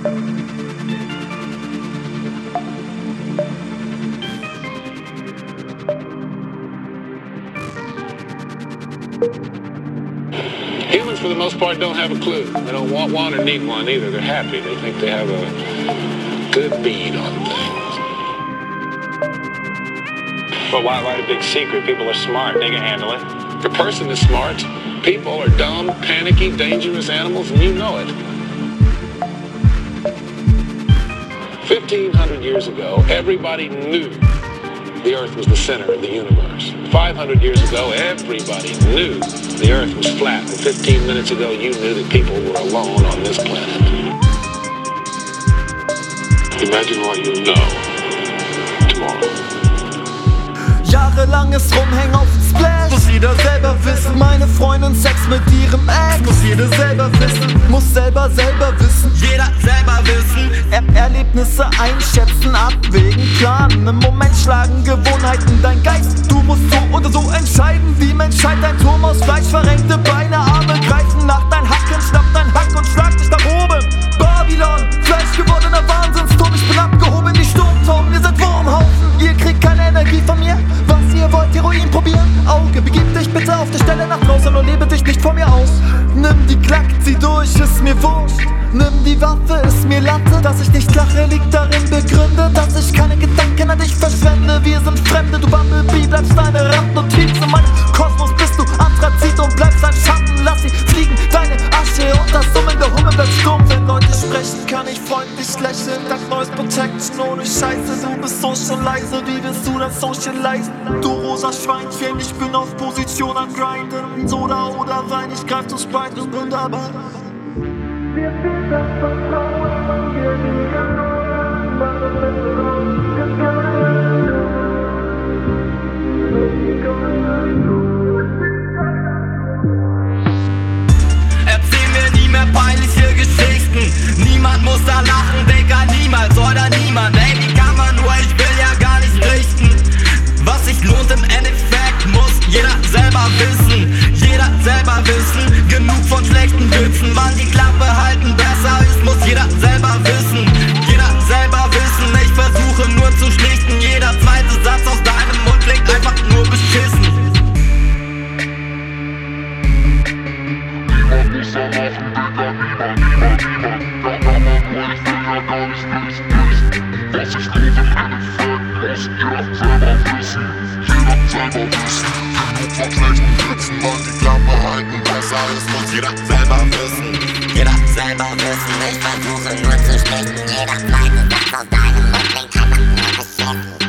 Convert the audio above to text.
Humans, for the most part, don't have a clue. They don't want one or need one either. They're happy. They think they have a good bead on things. But why the big secret? People are smart. They can handle it. The person is smart. People are dumb, panicky, dangerous animals, and you know it. 1,500 years ago, everybody knew the Earth was the center of the universe. 500 years ago, everybody knew the Earth was flat. And 15 minutes ago, you knew that people were alone on this planet. Imagine what you'll know tomorrow. Jahrelanges Rumhängen auf Splash. Muss jeder selber wissen. Meine Freundin Sex mit ihrem Ex. Muss jeder selber wissen. Muss selber wissen. Jeder selber wissen. Erlebnisse einschätzen, abwägen, planen. Im Moment schlagen Gewohnheiten dein Geist. Du musst so oder so entscheiden. Wie Mensch halt ein Turm aus Fleisch. Verrenkte Beine, Arme greifen nach dein Hacken. Schnapp dein Hack und schlag dich nach oben. Babylon, Fleisch gewordener Wahnsinnsturm. Ich bin abgehoben, die Sturmturm. Ihr seid Wurmhaufen. Ihr kriegt keine Energie von mir. Was ihr wollt, Heroin probieren? Auge, begib dich bitte auf der Stelle nach draußen und lebe dich nicht vor mir aus. Nimm die Klack, zieh durch, ist mir wurscht. Nimm die Waffe, ist mir Latte. Dass ich nicht lache, liegt darin begründet, dass ich keine Gedanken an dich verschwende. Wir sind Fremde, du Bumblebee, bleibst eine Randnotiz. In meinem Kosmos bist du Anthrazit und bleibst ein Schatten. Lass sie fliegen, deine Asche und das Summen der Hummel bleibt stumm. Wenn Leute sprechen, kann ich freundlich lächeln. Dank neues Protection, ohne Scheiße. Du bist so schon leise, wie willst du das socialisen? Du rosa Schweinchen, ich bin auf Position am Grinden. Soda oder Wein, ich greif zum Sprite und bin dabei. Wir sind das Vertrauen, wir liegen nur, was es ist, Erzähl mir nie mehr peinliche Geschichten. Niemand muss da lachen, Digga, niemals oder niemand. Ey, wie kann man nur, ich will ja gar nicht richten. Was sich lohnt im Endeffekt, muss jeder selber wissen. Jeder selber wissen, genug von schlechten Witzen. Wann die Klappe halten besser ist, muss jeder selber wissen. Jeder selber wissen, ich versuche nur zu schlichten. Jeder zweite Satz aus deinem Mund klingt einfach nur beschissen. Niemand muss da lachen, Digga, niemand. Da kann man nur, ich will ja gar nicht wissen. Was sich lohnt im Endeffekt, muss jeder selber wissen. Jeder selber wissen, genug von schlechten Witzen. Wann die Klappe halten besser ist, muss jeder selber wissen. Jeder selber wissen, ich versuche nur zu schlichten. Jeder zweite Satz aus deinem Mund klingt einfach nur beschissen.